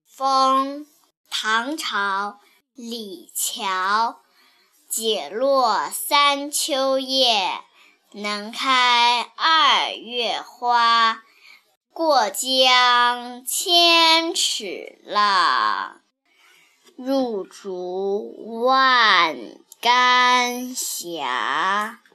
风，唐朝，李峤。解落三秋叶，能开二月花。过江千尺浪，入竹万竿斜。